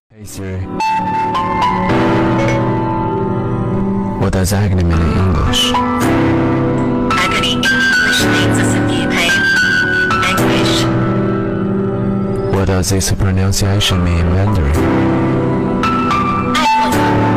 Hey Siri, what does agony mean in English? Agony in English means a simply pain, anguish. What does its pronunciation mean in Mandarin? 爱过的